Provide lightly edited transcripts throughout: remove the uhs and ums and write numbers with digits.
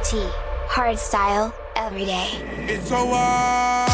T. Hardstyle, every day. It's a war.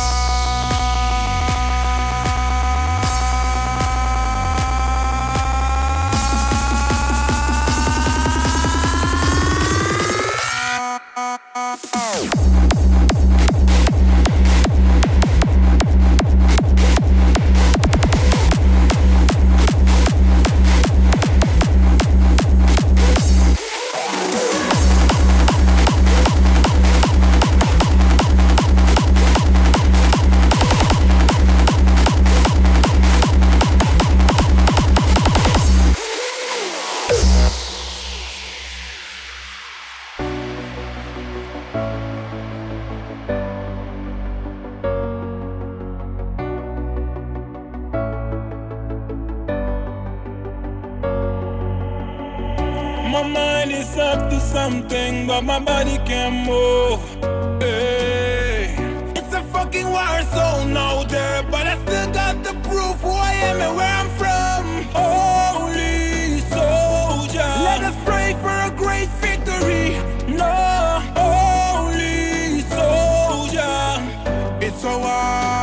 My mind is up to something, but my body can't move. Hey. It's a fucking war zone out there, but I still got the proof who I am and where I'm from. Holy soldier, let us pray for a great victory. No, holy soldier, it's a war.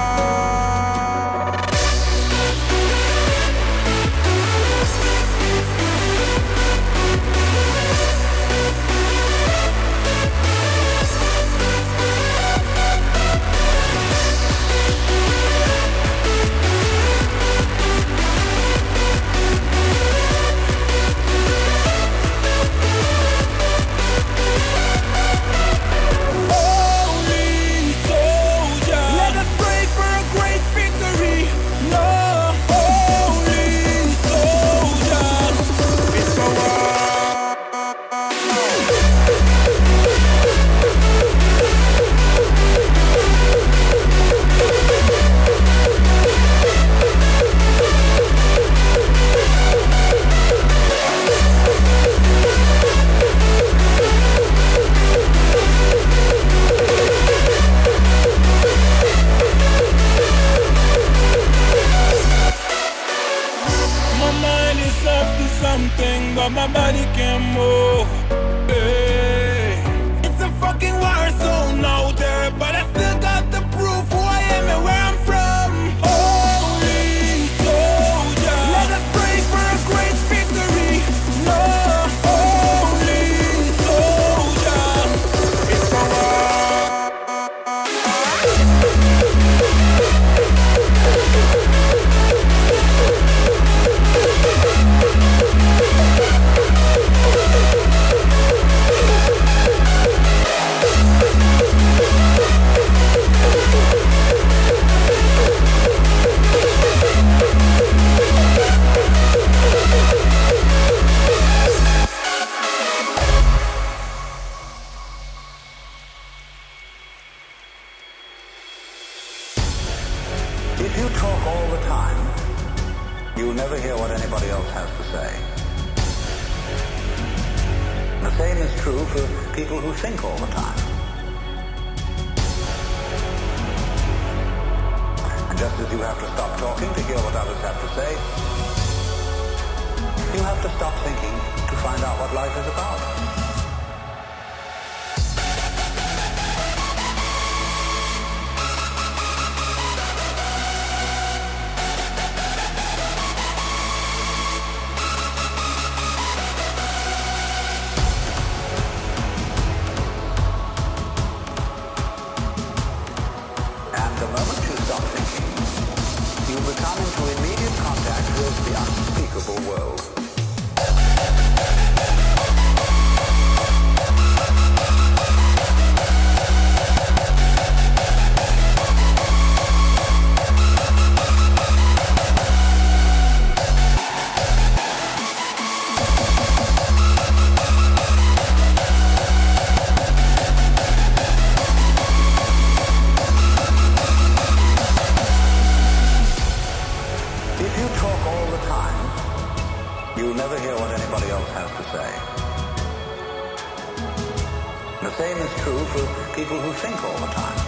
Something, but my body can't move. Hey. It's a fucking war zone out there, but I still got the proof who I am and where I'm from. Holy soldier, let us pray for a great victory. No, holy soldier, it's a war. If you talk all the time, you'll never hear what anybody else has to say. The same is true for people who think all the time. And just as you have to stop talking to hear what others have to say, you have to stop thinking to find out what life is about. You come into immediate contact with the unspeakable world. If you talk all the time, you'll never hear what anybody else has to say. The same is true for people who think all the time.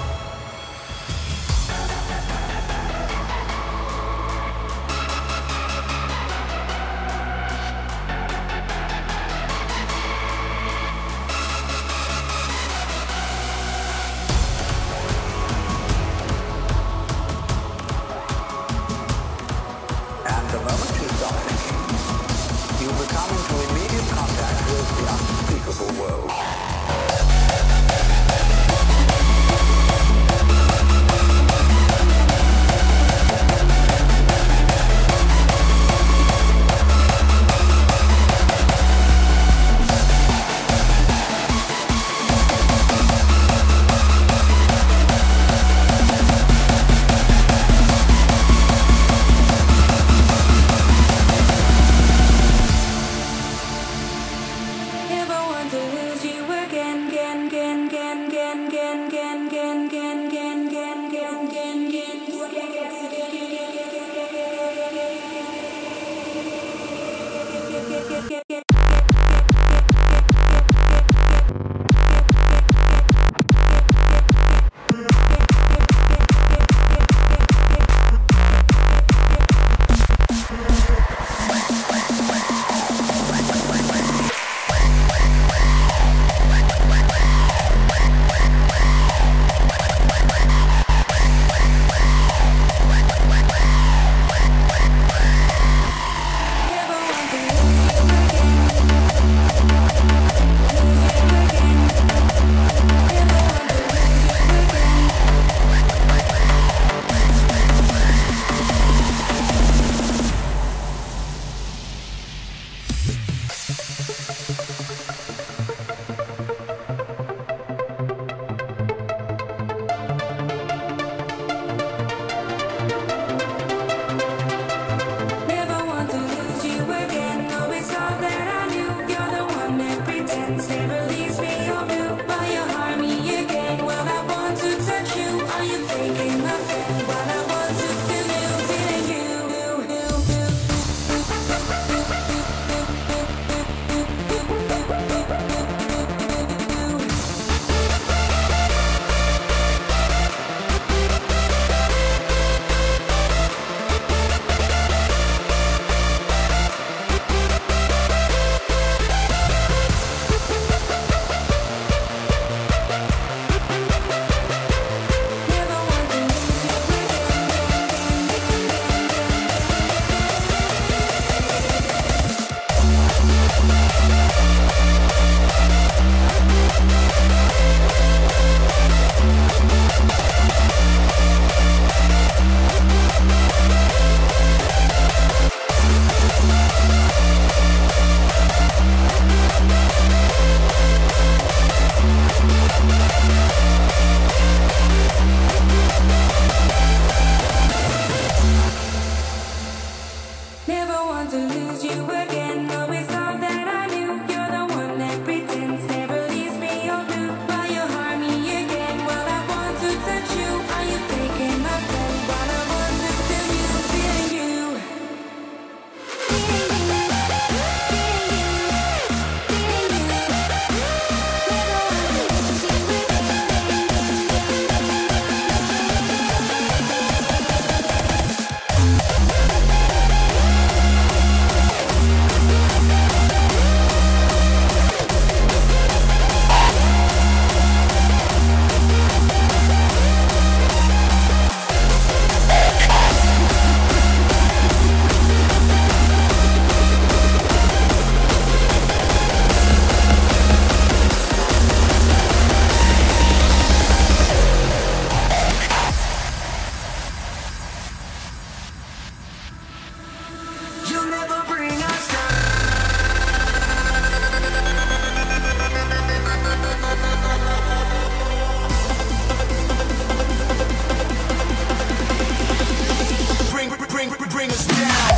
bring us down.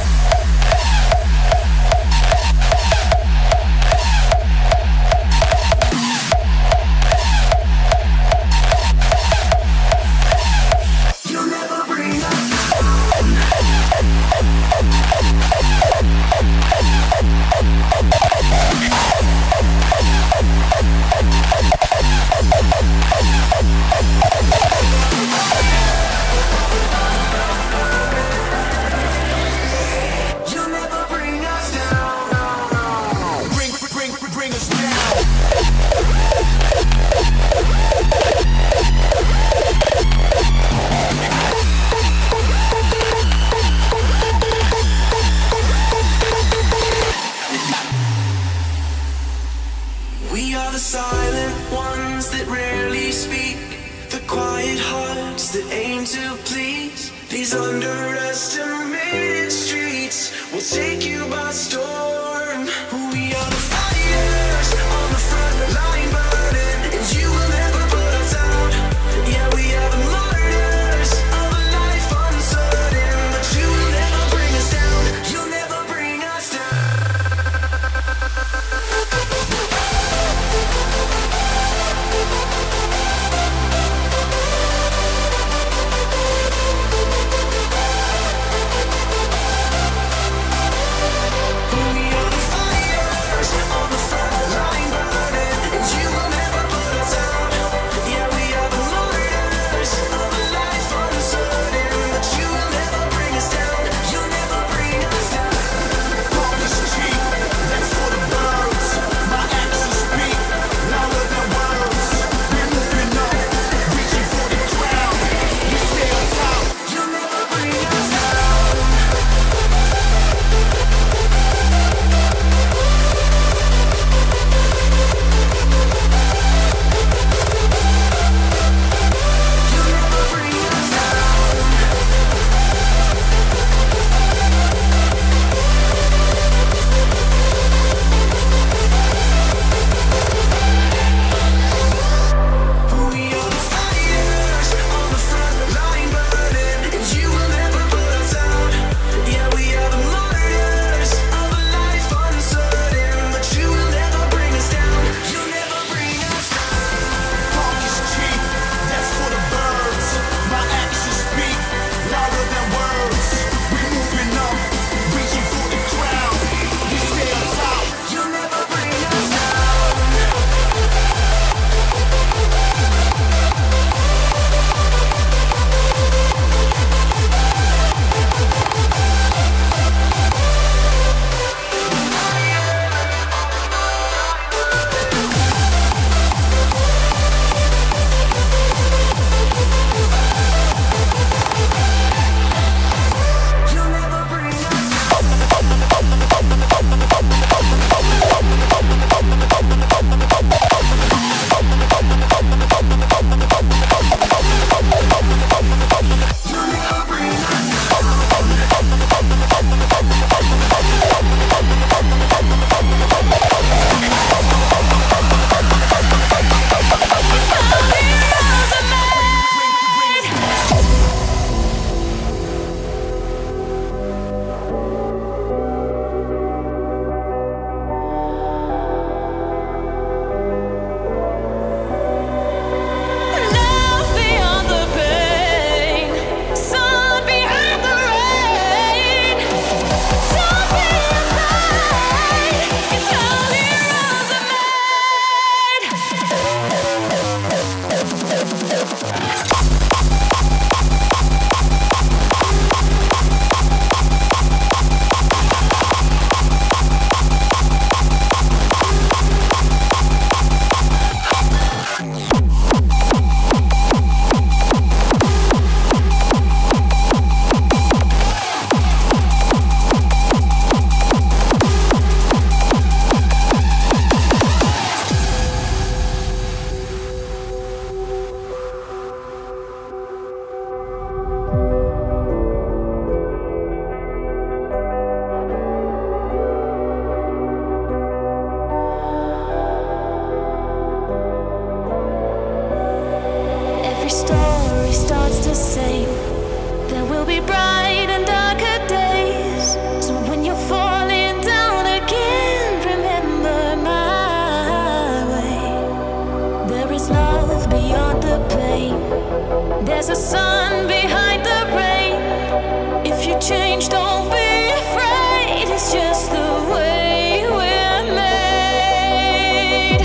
You'll never bring us underestimated streets will take you by storm. We are the fighters on the front line burning, and you will never put us out. Yeah, we are the martyrs of a life uncertain, but you will never bring us down. You'll never bring us down. There's a sun behind the rain. If you change, don't be afraid. It's just the way we're made.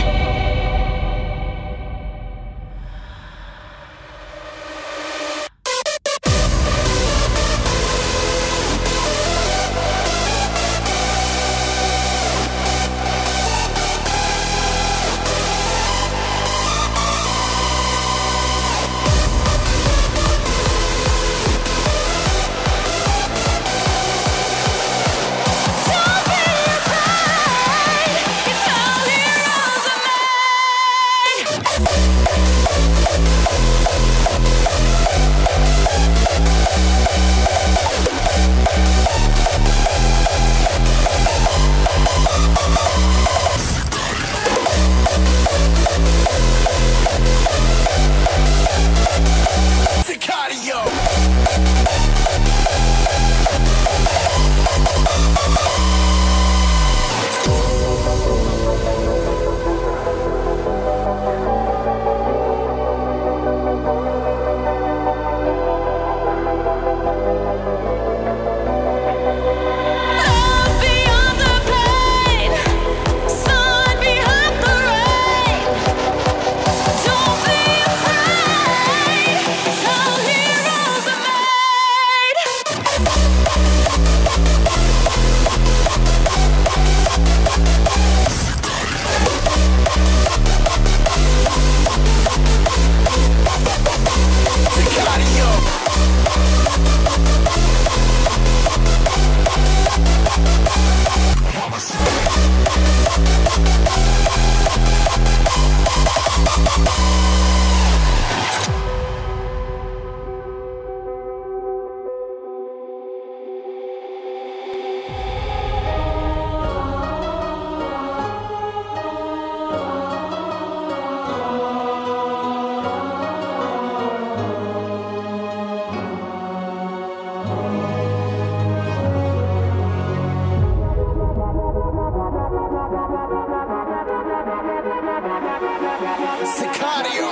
Sicario,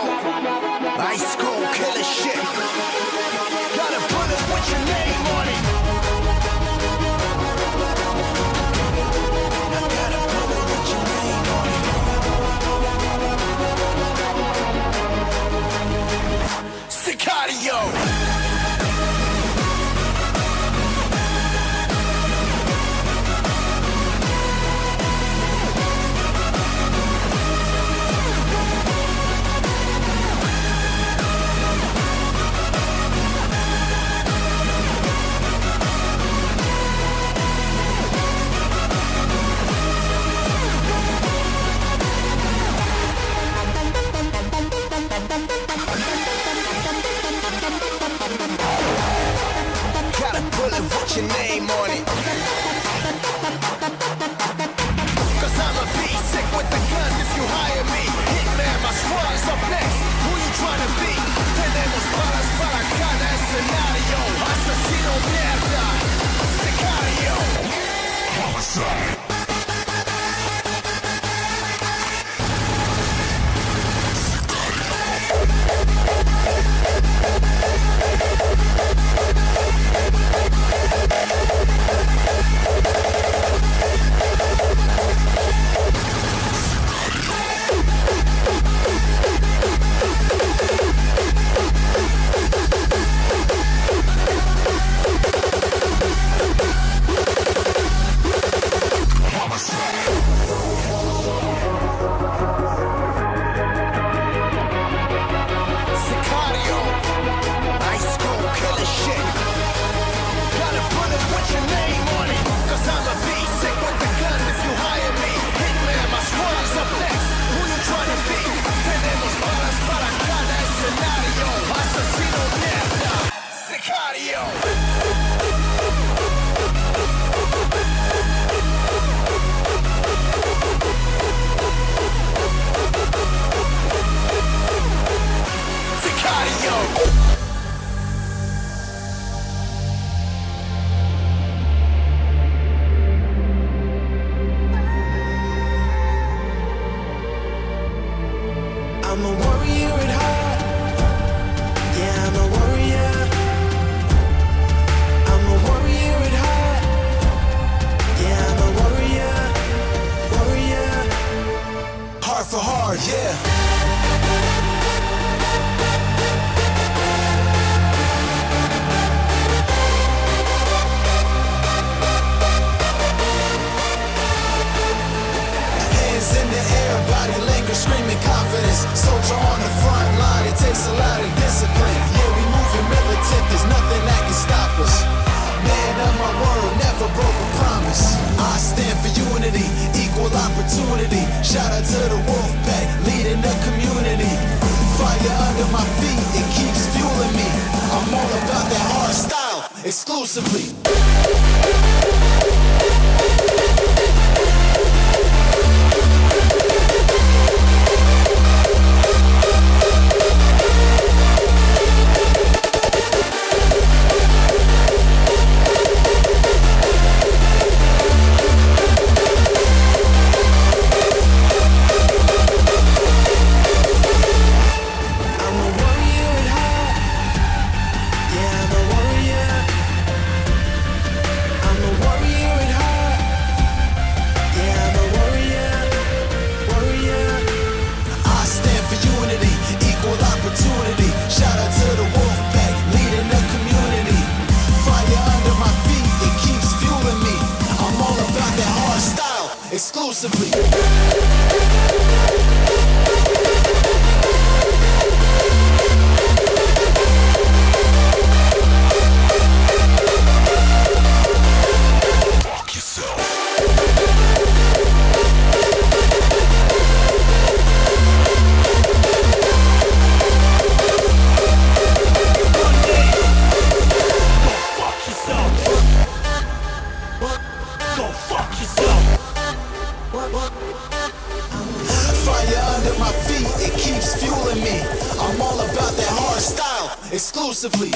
ice cold killer shit. Got a bullet with your name on it. I got a bullet with your name on it. Sicario. Got a bullet with your name on it. Cause I'ma be sick with the guns if you hire me. Hitman, my squad's up next. Who you tryna be? Tenemos balas para cada escenario. Asesino mierda. Sicario. Homicide. I'm a warrior at heart. Yeah, I'm a warrior. exclusively. Exclusively. Exclusively.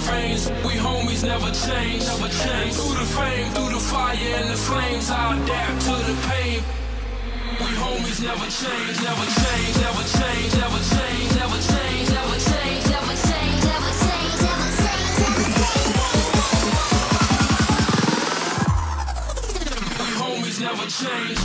veins. We homies never change, never change. Through the fame, through the fire and the flames, I adapt to the pain. We homies never change, never change, never change, never change, never change, never change, never change, never change, never change, never change. We homies never change.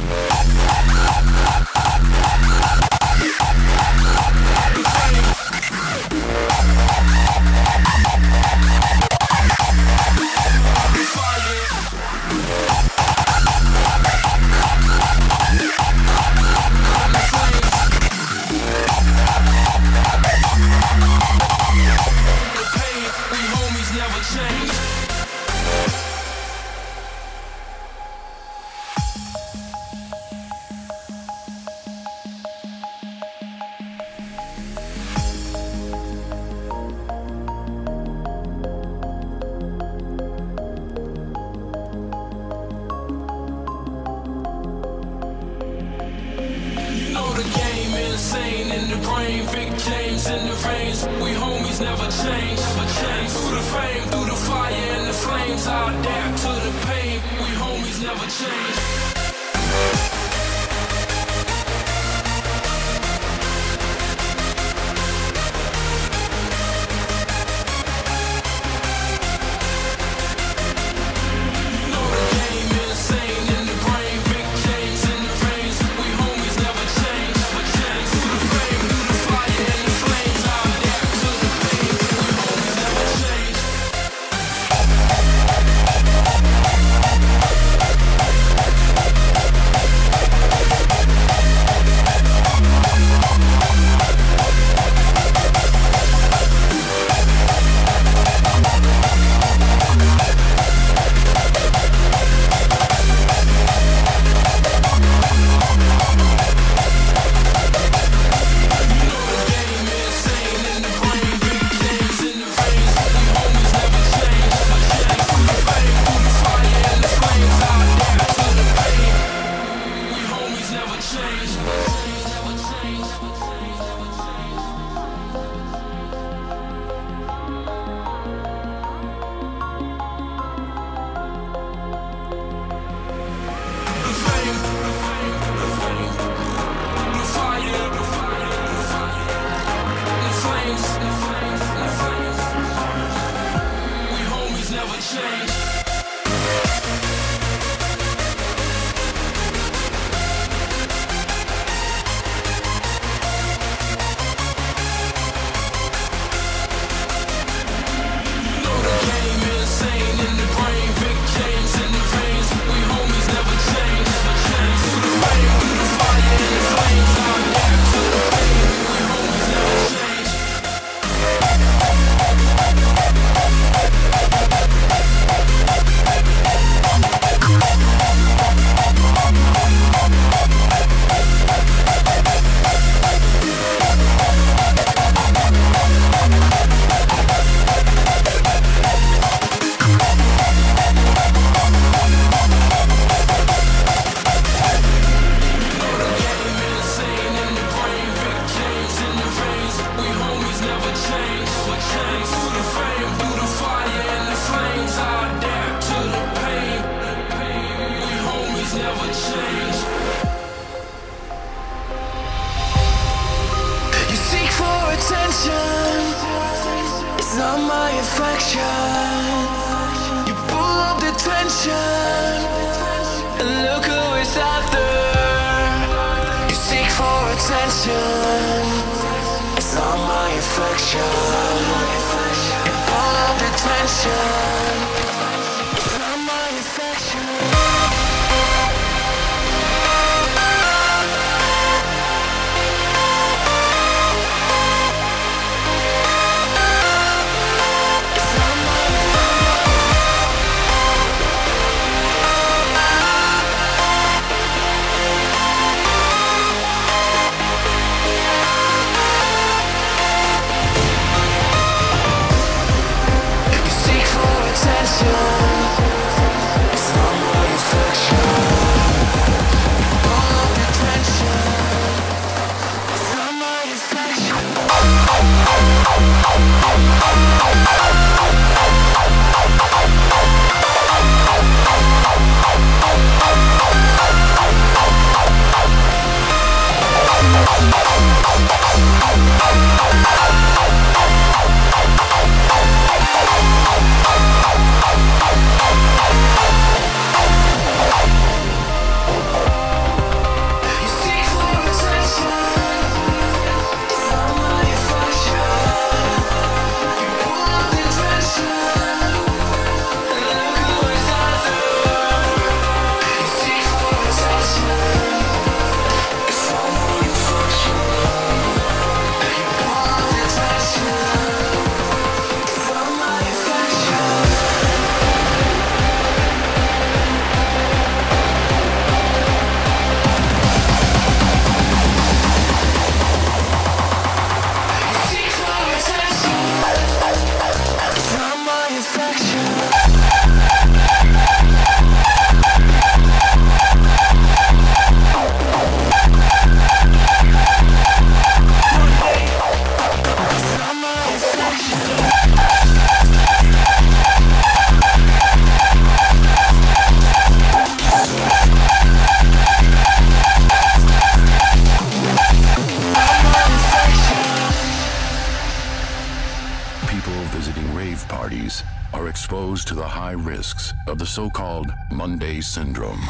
exposed to the high risks of the so-called Monday Syndrome.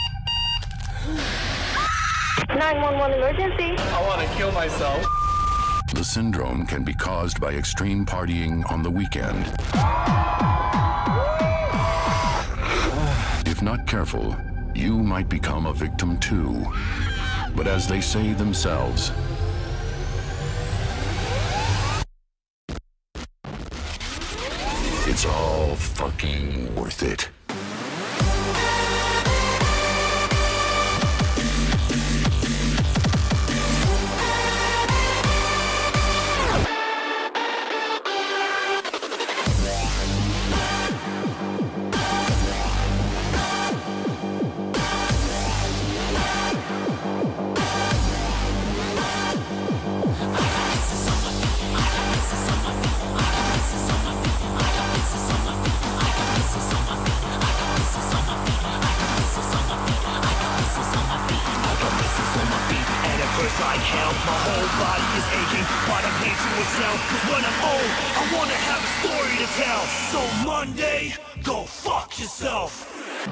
911 emergency. I want to kill myself. The syndrome can be caused by extreme partying on the weekend. If not careful, you might become a victim too. But as they say themselves, it's all fucking worth it. Like hell, my whole body is aching, but I'm here to excel. Cause when I'm old, I wanna have a story to tell. So Monday, go fuck yourself.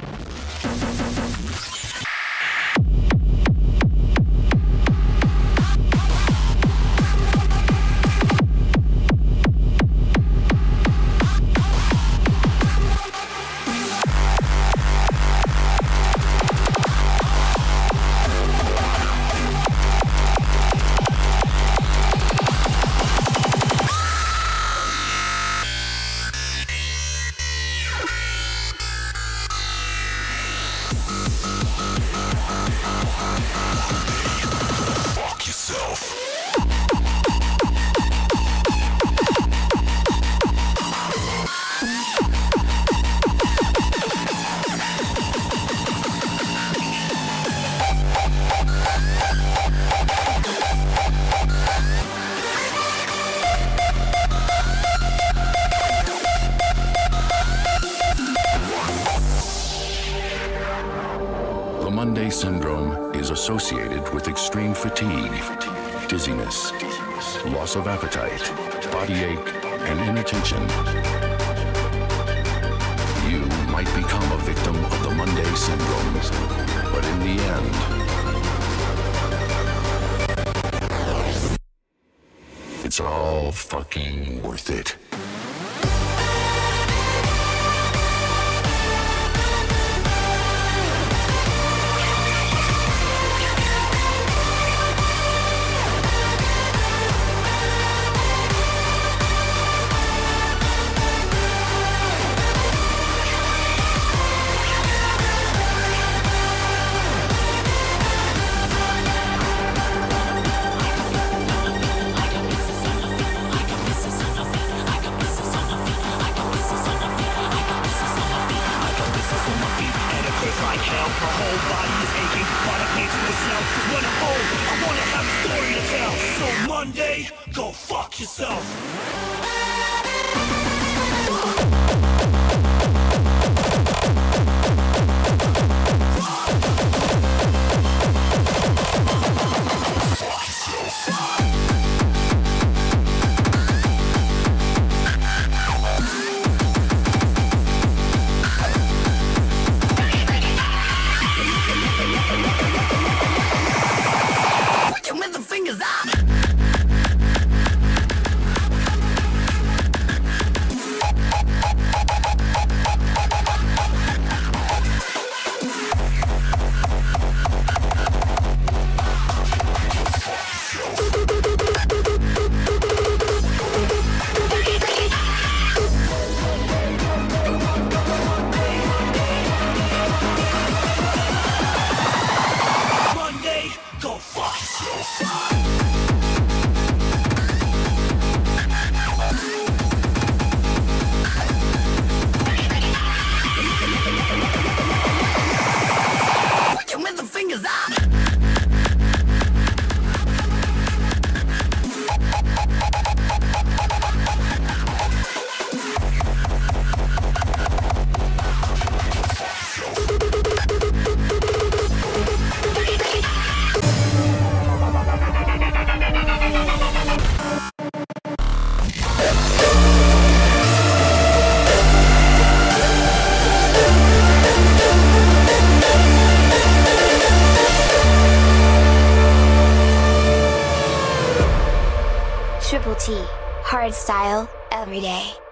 Monday Syndrome is associated with extreme fatigue, dizziness, loss of appetite, body ache, and inattention. You might become a victim of the Monday Syndrome, but in the end, it's all fucking worth it. Like hell, my whole body is aching, but I'm here to excel. Cause when I'm old, I wanna have a story to tell. So Monday, go fuck yourself. With the fingers up. Triple T, hardstyle, every day.